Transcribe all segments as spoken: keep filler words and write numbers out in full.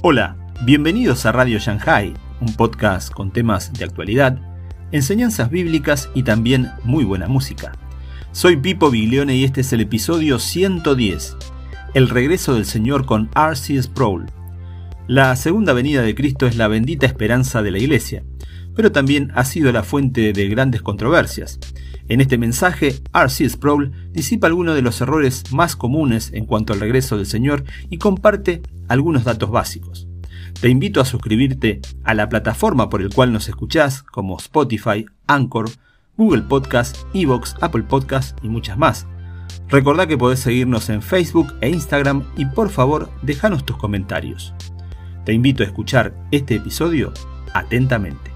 Hola, bienvenidos a Radio Shanghai, un podcast con temas de actualidad, enseñanzas bíblicas y también muy buena música. Soy Pipo Biglione y este es el episodio ciento diez, el regreso del Señor con R C Sproul. La segunda venida de Cristo es la bendita esperanza de la Iglesia, pero también ha sido la fuente de grandes controversias. En este mensaje, R C Sproul disipa algunos de los errores más comunes en cuanto al regreso del Señor y comparte algunos datos básicos. Te invito a suscribirte a la plataforma por el cual nos escuchás, como Spotify, Anchor, Google Podcast, iVoox, Apple Podcast y muchas más. Recordá que podés seguirnos en Facebook e Instagram y por favor, déjanos tus comentarios. Te invito a escuchar este episodio atentamente.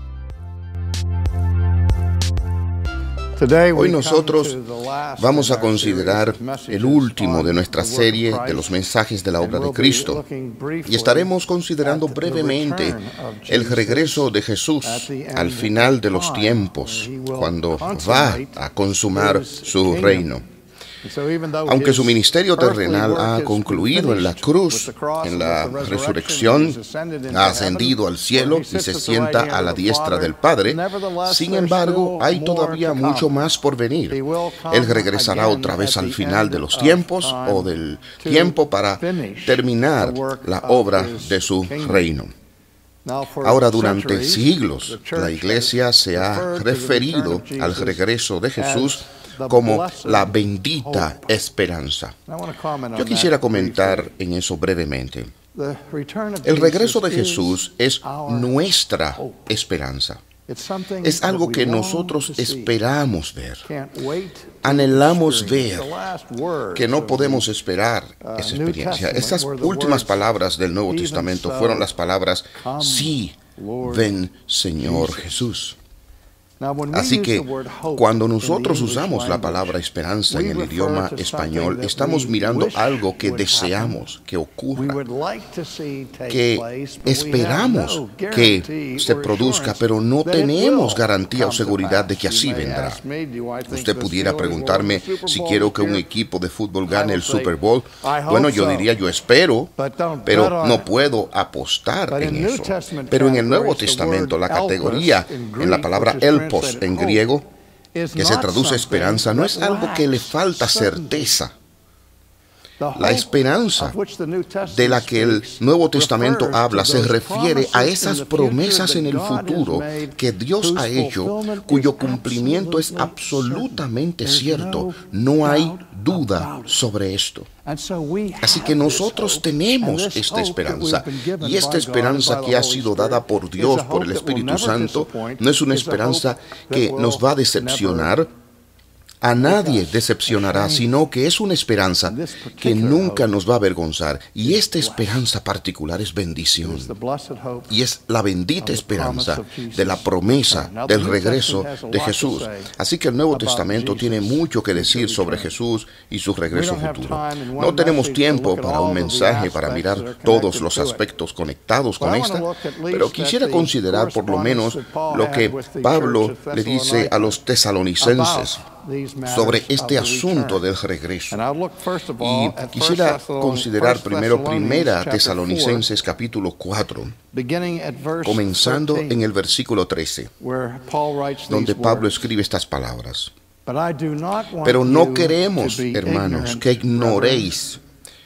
Hoy nosotros vamos a considerar el último de nuestra serie de los mensajes de la obra de Cristo y estaremos considerando brevemente el regreso de Jesús al final de los tiempos, cuando va a consumar su reino. Aunque su ministerio terrenal ha concluido en la cruz, en la resurrección, ha ascendido al cielo y se sienta a la diestra del Padre, sin embargo, hay todavía mucho más por venir. Él regresará otra vez al final de los tiempos o del tiempo para terminar la obra de su reino. Ahora, durante siglos, la Iglesia se ha referido al regreso de Jesús como la bendita esperanza. Yo quisiera comentar en eso brevemente. El regreso de Jesús es nuestra esperanza. Es algo que nosotros esperamos ver, anhelamos ver, que no podemos esperar esa experiencia. Estas últimas palabras del Nuevo Testamento fueron las palabras, sí, ven Señor Jesús. Así que cuando nosotros usamos la palabra esperanza en el idioma español, estamos mirando algo que deseamos que ocurra, que esperamos que se produzca, pero no tenemos garantía o seguridad de que así vendrá. Usted pudiera preguntarme si quiero que un equipo de fútbol gane el Super Bowl. Bueno, yo diría yo espero, pero no puedo apostar en eso. Pero en el Nuevo Testamento, la categoría en la palabra el en griego, que se traduce esperanza, no es algo que le falta certeza. La esperanza de la que el Nuevo Testamento habla se refiere a esas promesas en el futuro que Dios ha hecho, cuyo cumplimiento es absolutamente cierto. No hay duda sobre esto. Así que nosotros tenemos esta esperanza, y esta esperanza que ha sido dada por Dios, por el Espíritu Santo, no es una esperanza que nos va a decepcionar. A nadie decepcionará, sino que es una esperanza que nunca nos va a avergonzar. Y esta esperanza particular es bendición. Y es la bendita esperanza de la promesa del regreso de Jesús. Así que el Nuevo Testamento tiene mucho que decir sobre Jesús y su regreso futuro. No tenemos tiempo para un mensaje para mirar todos los aspectos conectados con esta, pero quisiera considerar por lo menos lo que Pablo le dice a los tesalonicenses sobre este asunto del regreso. Y quisiera considerar primero Primera Tesalonicenses capítulo cuatro, comenzando en el versículo trece, donde Pablo escribe estas palabras. Pero no queremos, hermanos, que ignoréis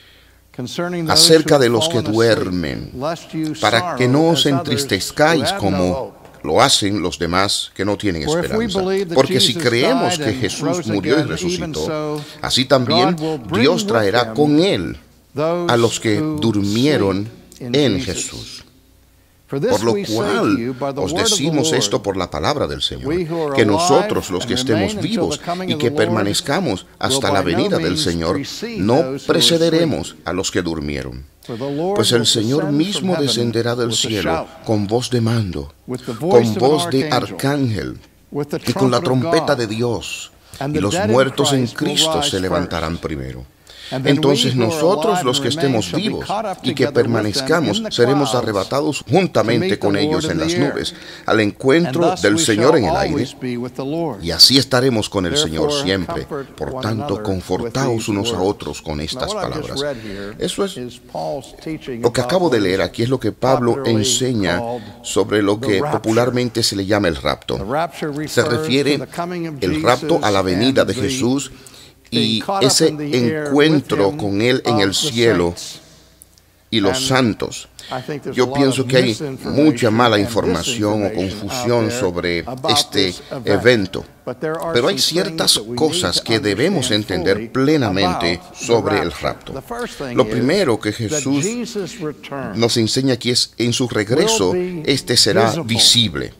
acerca de los que duermen, para que no os entristezcáis como lo hacen los demás que no tienen esperanza. Porque si creemos que Jesús murió y resucitó, así también Dios traerá con Él a los que durmieron en Jesús. Por lo cual os decimos esto por la palabra del Señor, que nosotros los que estemos vivos y que permanezcamos hasta la venida del Señor, no precederemos a los que durmieron. Pues el Señor mismo descenderá del cielo con voz de mando, con voz de arcángel y con la trompeta de Dios, y los muertos en Cristo se levantarán primero. Entonces nosotros, los que estemos vivos y que permanezcamos, seremos arrebatados juntamente con ellos en las nubes, al encuentro del Señor en el aire, y así estaremos con el Señor siempre. Por tanto, confortaos unos a otros con estas palabras. Eso es lo que acabo de leer aquí, es lo que Pablo enseña sobre lo que popularmente se le llama el rapto. Se refiere el rapto a la venida de Jesús y ese encuentro con Él en el cielo y los santos. Yo pienso que hay mucha mala información o confusión sobre este evento, pero hay ciertas cosas que debemos entender plenamente sobre el rapto. Lo primero que Jesús nos enseña aquí es, en su regreso, este será visible.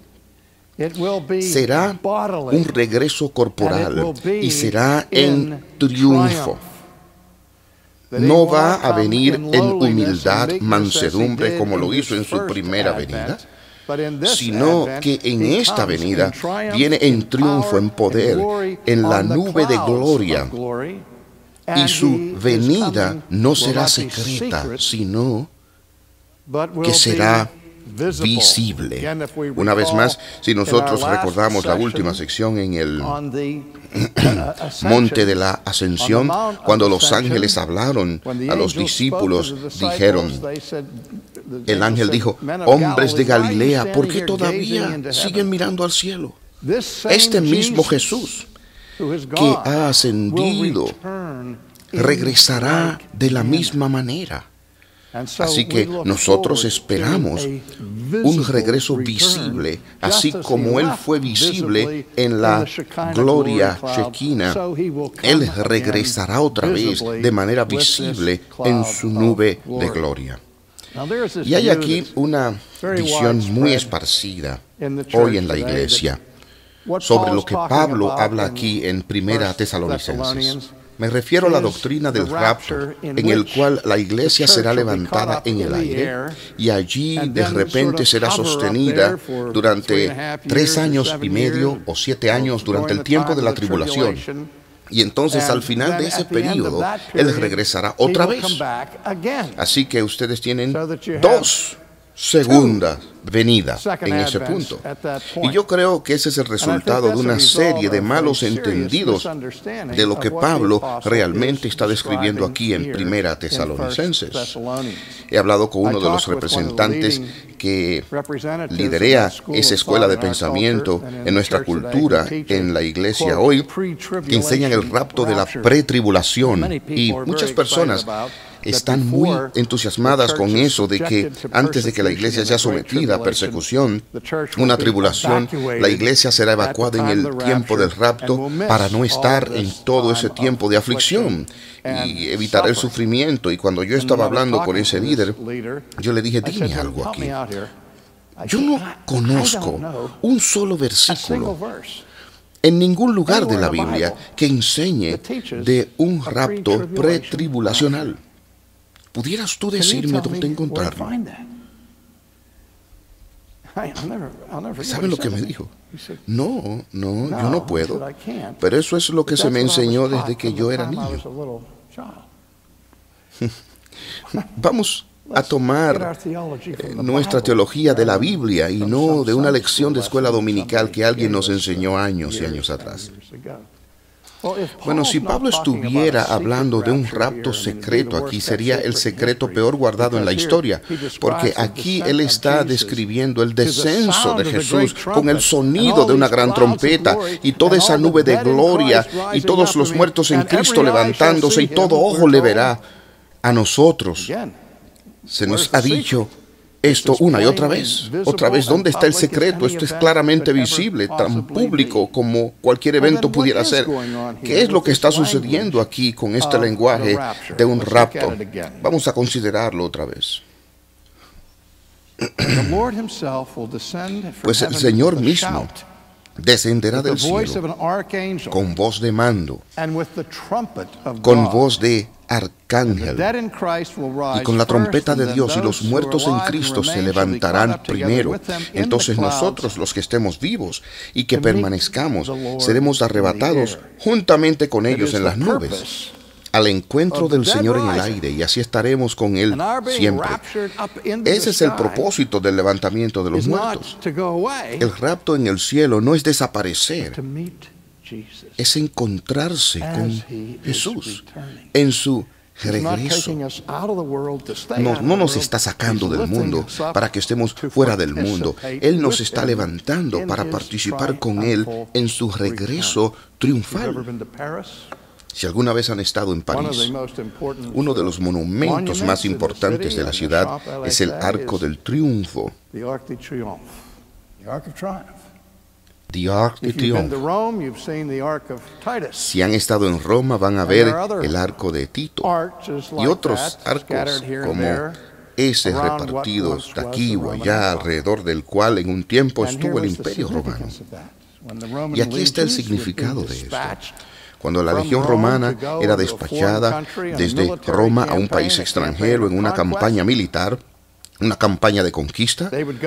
Será un regreso corporal y será en triunfo. No va a venir en humildad, mansedumbre, como lo hizo en su primera venida, sino que en esta venida viene en triunfo, en poder, en la nube de gloria. Y su venida no será secreta, sino que será visible. Una vez más, si nosotros recordamos la última sección en el monte de la ascensión, cuando los ángeles hablaron a los discípulos, dijeron, el ángel dijo, hombres de Galilea, ¿por qué todavía siguen mirando al cielo? Este mismo Jesús que ha ascendido regresará de la misma manera. Así que nosotros esperamos un regreso visible, así como Él fue visible en la gloria Shekinah. Él regresará otra vez de manera visible en su nube de gloria. Y hay aquí una visión muy esparcida hoy en la iglesia sobre lo que Pablo habla aquí en Primera Tesalonicenses. Me refiero a la doctrina del rapto, en el cual la iglesia será levantada en el aire y allí de repente será sostenida durante tres años y medio o siete años durante el tiempo de la tribulación. Y entonces al final de ese periodo, Él regresará otra vez. Así que ustedes tienen dos segunda venida en ese punto. Y yo creo que ese es el resultado de una serie de malos entendidos de lo que Pablo realmente está describiendo aquí en Primera Tesalonicenses. He hablado con uno de los representantes que liderea esa escuela de pensamiento en nuestra cultura, en la iglesia hoy, que enseñan el rapto de la pretribulación. Y muchas personas están muy entusiasmadas con eso de que antes de que la iglesia sea sometida a persecución, una tribulación, la iglesia será evacuada en el tiempo del rapto para no estar en todo ese tiempo de aflicción y evitar el sufrimiento. Y cuando yo estaba hablando con ese líder, yo le dije, dime algo aquí. Yo no conozco un solo versículo en ningún lugar de la Biblia que enseñe de un rapto pretribulacional. ¿Pudieras tú decirme dónde encontrarlo? ¿Saben lo que me dijo? No, no, yo no puedo. Pero eso es lo que se me enseñó desde que yo era niño. Vamos a tomar eh, nuestra teología de la Biblia y no de una lección de escuela dominical que alguien nos enseñó años y años atrás. Bueno, si Pablo estuviera hablando de un rapto secreto aquí, sería el secreto peor guardado en la historia, porque aquí él está describiendo el descenso de Jesús con el sonido de una gran trompeta y toda esa nube de gloria y todos los muertos en Cristo levantándose y todo ojo le verá. A nosotros se nos ha dicho esto una y otra vez. Otra vez, ¿dónde está el secreto? Esto es claramente visible, tan público como cualquier evento pudiera ser. ¿Qué es lo que está sucediendo aquí con este lenguaje de un rapto? Vamos a considerarlo otra vez. Pues el Señor mismo descenderá del cielo con voz de mando, con voz de arcángel y con la trompeta de Dios, y los muertos en Cristo se levantarán primero. Entonces nosotros, los que estemos vivos y que permanezcamos, seremos arrebatados juntamente con ellos en las nubes. al encuentro del Señor en el aire, y así estaremos con Él siempre. Ese es el propósito del levantamiento de los muertos. El rapto en el cielo no es desaparecer, es encontrarse con Jesús en su regreso. No, no nos está sacando del mundo para que estemos fuera del mundo. Él nos está levantando para participar con Él en su regreso triunfal. Si alguna vez han estado en París, uno de los monumentos más importantes de la ciudad es el Arco del Triunfo. The Arc de Triomphe. Si han estado en Roma, van a ver el Arco de Tito y otros arcos como ese repartidos de aquí o allá, alrededor del cual en un tiempo estuvo el Imperio Romano. Y aquí está el significado de esto. Cuando la legión romana era despachada desde Roma a un país extranjero en una campaña militar, una campaña de conquista,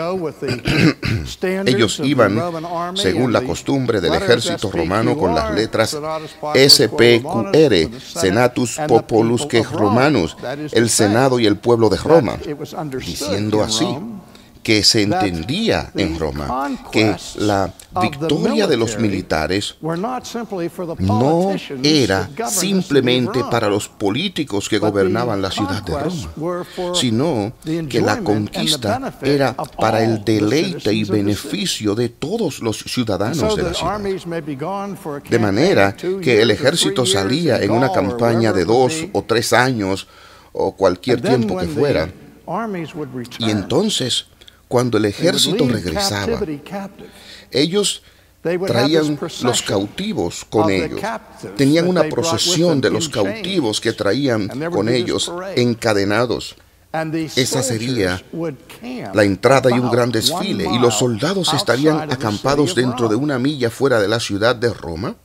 ellos iban según la costumbre del ejército romano con las letras S P Q R, Senatus Populus que Romanus, el Senado y el pueblo de Roma, diciendo así que se entendía en Roma que la victoria de los militares no era simplemente para los políticos que gobernaban la ciudad de Roma, sino que la conquista era para el deleite y beneficio de todos los ciudadanos de la ciudad. De manera que el ejército salía en una campaña de dos o tres años o cualquier tiempo que fuera, y entonces cuando el ejército regresaba, ellos traían los cautivos con ellos. Tenían una procesión de los cautivos que traían con ellos encadenados. Esa sería la entrada y un gran desfile, y los soldados estarían acampados dentro de una milla fuera de la ciudad de Roma.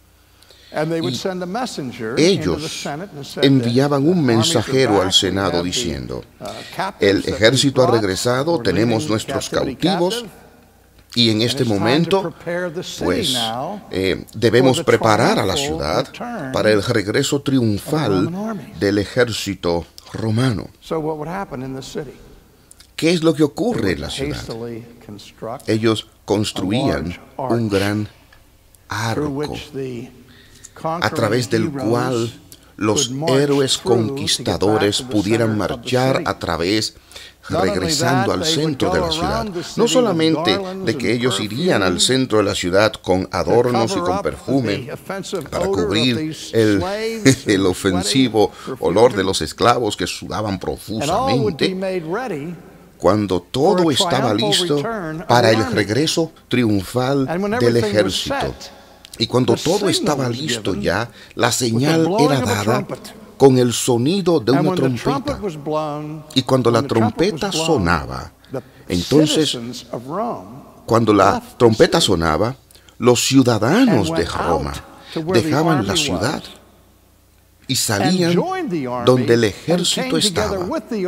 Y ellos enviaban un mensajero al Senado diciendo: el ejército ha regresado, tenemos nuestros cautivos, y en este momento pues eh, debemos preparar a la ciudad para el regreso triunfal del ejército romano. ¿Qué es lo que ocurre en la ciudad? Ellos construían un gran arco a través del cual los héroes conquistadores pudieran marchar a través, regresando al centro de la ciudad. No solamente de que ellos irían al centro de la ciudad con adornos y con perfume para cubrir el, el ofensivo olor de los esclavos que sudaban profusamente, cuando todo estaba listo para el regreso triunfal del ejército. Y cuando todo estaba listo ya, la señal era dada con el sonido de una trompeta. Y cuando la trompeta sonaba, entonces, cuando la trompeta sonaba, los ciudadanos de Roma dejaban la ciudad y salían donde el ejército estaba.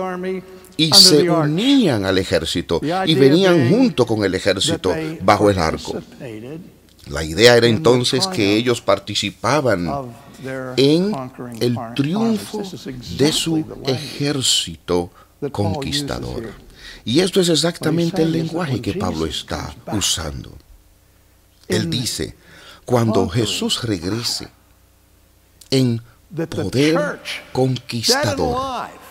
Y se unían al ejército y venían junto con el ejército bajo el arco. La idea era entonces que ellos participaban en el triunfo de su ejército conquistador. Y esto es exactamente el lenguaje que Pablo está usando. Él dice, cuando Jesús regrese en poder conquistador,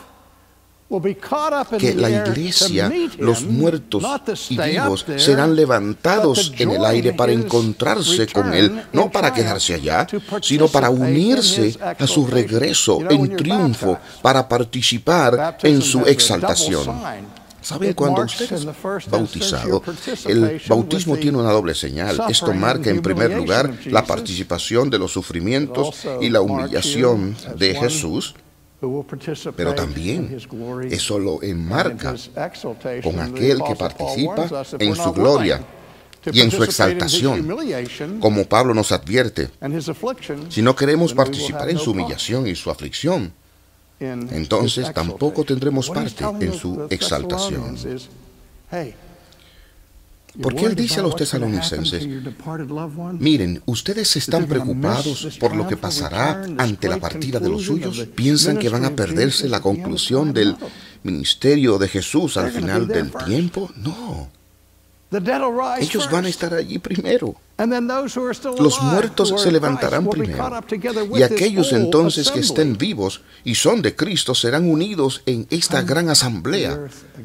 que la iglesia, los muertos y vivos serán levantados en el aire para encontrarse con Él, no para quedarse allá, sino para unirse a su regreso en triunfo, para participar en su exaltación. ¿Saben? Cuando usted es bautizado, el bautismo tiene una doble señal. Esto marca en primer lugar la participación de los sufrimientos y la humillación de Jesús, pero también eso lo enmarca con aquel que participa en su gloria y en su exaltación. Como Pablo nos advierte, si no queremos participar en su humillación y su aflicción, entonces tampoco tendremos parte en su exaltación. Porque él dice a los tesalonicenses, miren, ustedes están preocupados por lo que pasará ante la partida de los suyos. ¿Piensan que van a perderse la conclusión del ministerio de Jesús al final del tiempo? No. Ellos van a estar allí primero. Los muertos se levantarán primero. Y aquellos entonces que estén vivos y son de Cristo serán unidos en esta gran asamblea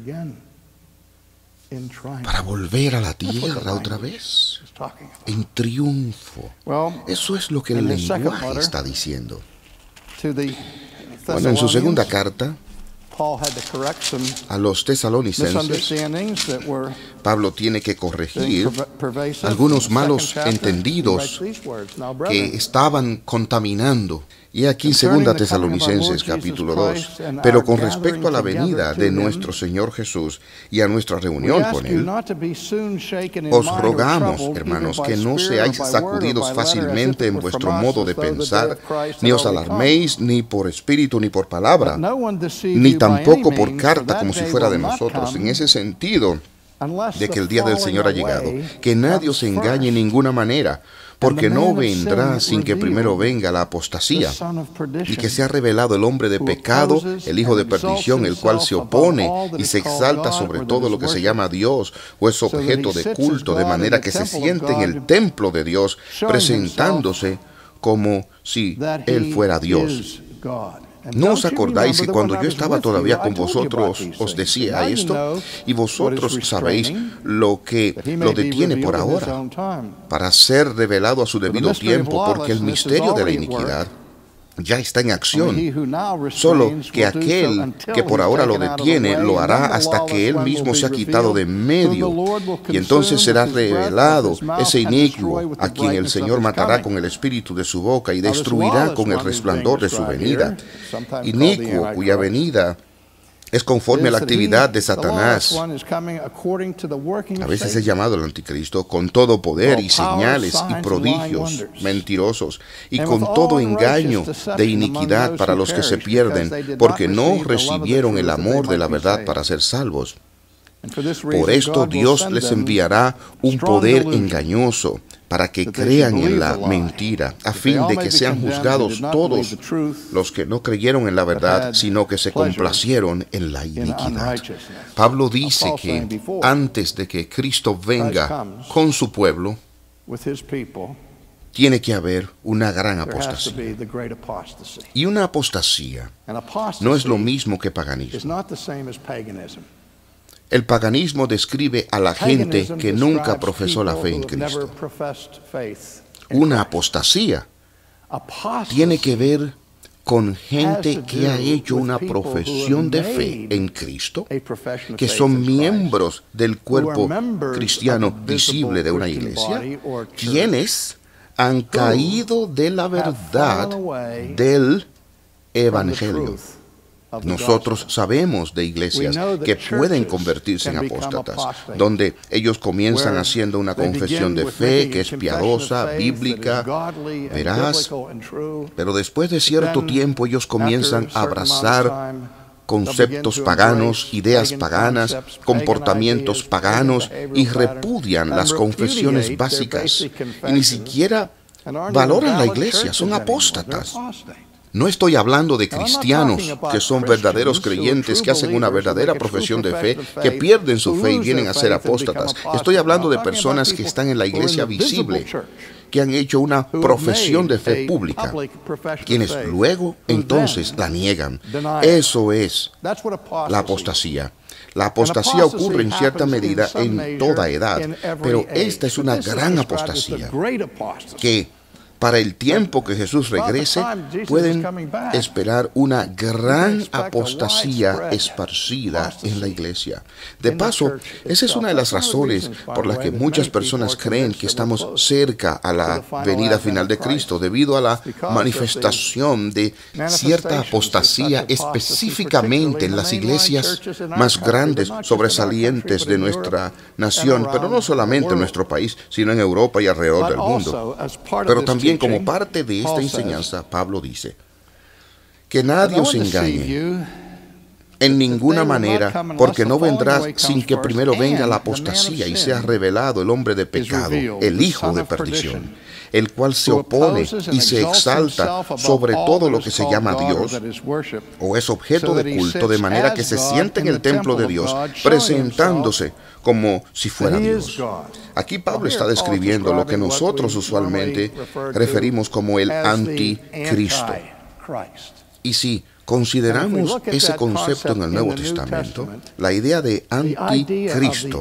para volver a la tierra otra vez, en triunfo. Eso es lo que el lenguaje está diciendo. Bueno, en su segunda carta a los tesalonicenses, Pablo tiene que corregir algunos malos entendidos que estaban contaminando. Y aquí segunda Tesalonicenses capítulo dos. Pero con respecto a la venida de nuestro Señor Jesús y a nuestra reunión con Él, os rogamos, hermanos, que no seáis sacudidos fácilmente en vuestro modo de pensar, ni os alarméis ni por espíritu ni por palabra, ni tampoco por carta como si fuera de nosotros, en ese sentido de que el día del Señor ha llegado, que nadie os engañe en ninguna manera, porque no vendrá sin que primero venga la apostasía, y que sea revelado el hombre de pecado, el hijo de perdición, el cual se opone y se exalta sobre todo lo que se llama Dios, o es objeto de culto, de manera que se siente en el templo de Dios, presentándose como si Él fuera Dios. ¿No os acordáis que cuando yo estaba todavía con vosotros os decía esto? Y vosotros sabéis lo que lo detiene por ahora, para ser revelado a su debido tiempo, porque el misterio de la iniquidad ya está en acción, solo que aquel que por ahora lo detiene lo hará hasta que él mismo se ha quitado de medio, y entonces será revelado ese inicuo a quien el Señor matará con el espíritu de su boca y destruirá con el resplandor de su venida. Inicuo cuya venida es conforme a la actividad de Satanás. A veces es llamado el anticristo, con todo poder y señales y prodigios mentirosos, y con todo engaño de iniquidad para los que se pierden, porque no recibieron el amor de la verdad para ser salvos. Por esto Dios les enviará un poder engañoso para que crean en la mentira, a fin de que sean juzgados todos los que no creyeron en la verdad, sino que se complacieron en la iniquidad. Pablo dice que antes de que Cristo venga con su pueblo, tiene que haber una gran apostasía. Y una apostasía no es lo mismo que paganismo. El paganismo describe a la gente que nunca profesó la fe en Cristo. Una apostasía tiene que ver con gente que ha hecho una profesión de fe en Cristo, que son miembros del cuerpo cristiano visible de una iglesia, quienes han caído de la verdad del Evangelio. Nosotros sabemos de iglesias que pueden convertirse en apóstatas, donde ellos comienzan haciendo una confesión de fe que es piadosa, bíblica, veraz, pero después de cierto tiempo ellos comienzan a abrazar conceptos paganos, ideas paganas, comportamientos paganos, y repudian las confesiones básicas y ni siquiera valoran la iglesia, son apóstatas. No estoy hablando de cristianos que son verdaderos creyentes, que hacen una verdadera profesión de fe, que pierden su fe y vienen a ser apóstatas. Estoy hablando de personas que están en la iglesia visible, que han hecho una profesión de fe pública, quienes luego entonces la niegan. Eso es la apostasía. La apostasía ocurre en cierta medida en toda edad, pero esta es una gran apostasía que para el tiempo que Jesús regrese, pueden esperar una gran apostasía esparcida en la iglesia. De paso, esa es una de las razones por las que muchas personas creen que estamos cerca a la venida final de Cristo, debido a la manifestación de cierta apostasía específicamente en las iglesias más grandes, sobresalientes de nuestra nación, pero no solamente en nuestro país, sino en Europa y alrededor del mundo. Pero también como parte de esta enseñanza, Pablo dice que nadie os engañe En ninguna manera, porque no vendrá sin que primero venga la apostasía y sea revelado el hombre de pecado, el hijo de perdición, el cual se opone y se exalta sobre todo lo que se llama Dios o es objeto de culto, de manera que se siente en el templo de Dios, presentándose como si fuera Dios. Aquí Pablo está describiendo lo que nosotros usualmente referimos como el anticristo. Y si consideramos ese concepto en el Nuevo Testamento, la idea de anticristo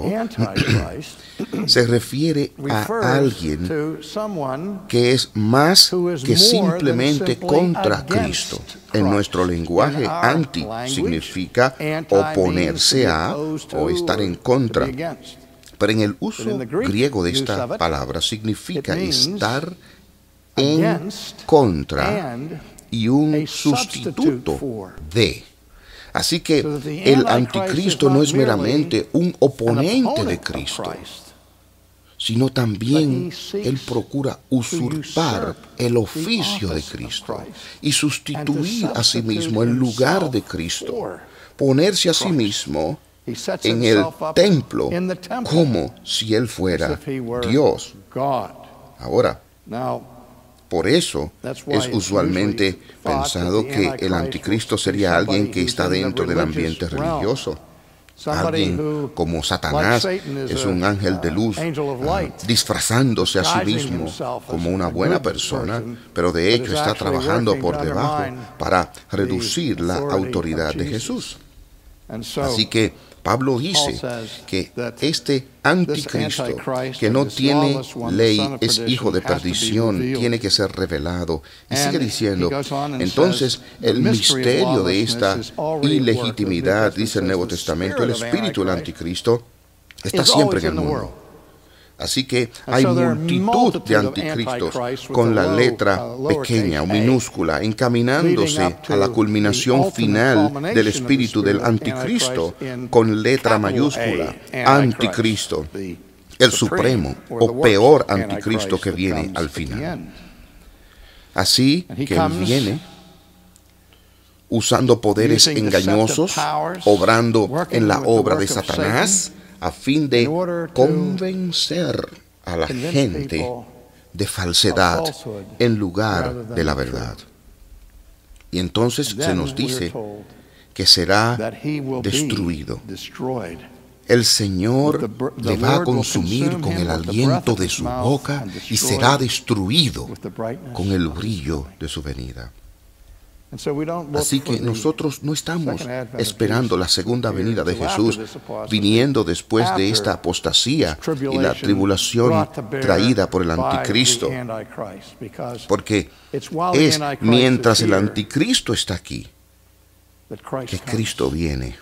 se refiere a alguien que es más que simplemente contra Cristo. En nuestro lenguaje, anti significa oponerse a o estar en contra. Pero en el uso griego de esta palabra significa estar en contra y un sustituto de. Así que el anticristo no es meramente un oponente de Cristo, sino también él procura usurpar el oficio de Cristo y sustituir a sí mismo el lugar de Cristo, ponerse a sí mismo en el templo como si él fuera Dios. Ahora, por eso es usualmente pensado que el anticristo sería alguien que está dentro del ambiente religioso. Alguien como Satanás es un ángel de luz, uh, disfrazándose a sí mismo como una buena persona, pero de hecho está trabajando por debajo para reducir la autoridad de Jesús. Así que Pablo dice que este anticristo, que no tiene ley, es hijo de perdición, tiene que ser revelado. Y sigue diciendo, entonces el misterio de esta ilegitimidad, dice el Nuevo Testamento, el espíritu del anticristo, está siempre en el mundo. Así que hay multitud de anticristos con la letra pequeña o minúscula, encaminándose a la culminación final del espíritu del anticristo con letra mayúscula, anticristo, el supremo o peor anticristo que viene al final. Así que él viene usando poderes engañosos, obrando en la obra de Satanás, a fin de convencer a la gente de falsedad en lugar de la verdad. Y entonces se nos dice que será destruido. El Señor le va a consumir con el aliento de su boca y será destruido con el brillo de su venida. Así que nosotros no estamos esperando la segunda venida de Jesús, viniendo después de esta apostasía y la tribulación traída por el anticristo, porque es mientras el anticristo está aquí que Cristo viene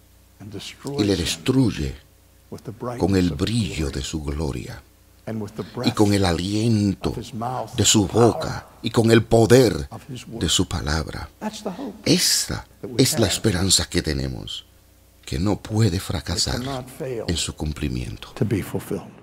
y le destruye con el brillo de su gloria y con el aliento de su boca y con el poder de su palabra. Esta es la esperanza que tenemos, que no puede fracasar en su cumplimiento.